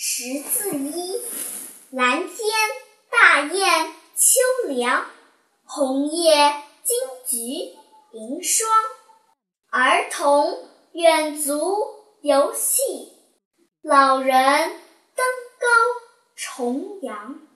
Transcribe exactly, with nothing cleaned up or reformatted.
识字一。蓝天大雁秋凉，红叶金菊迎霜。儿童远足游戏，老人登高重阳。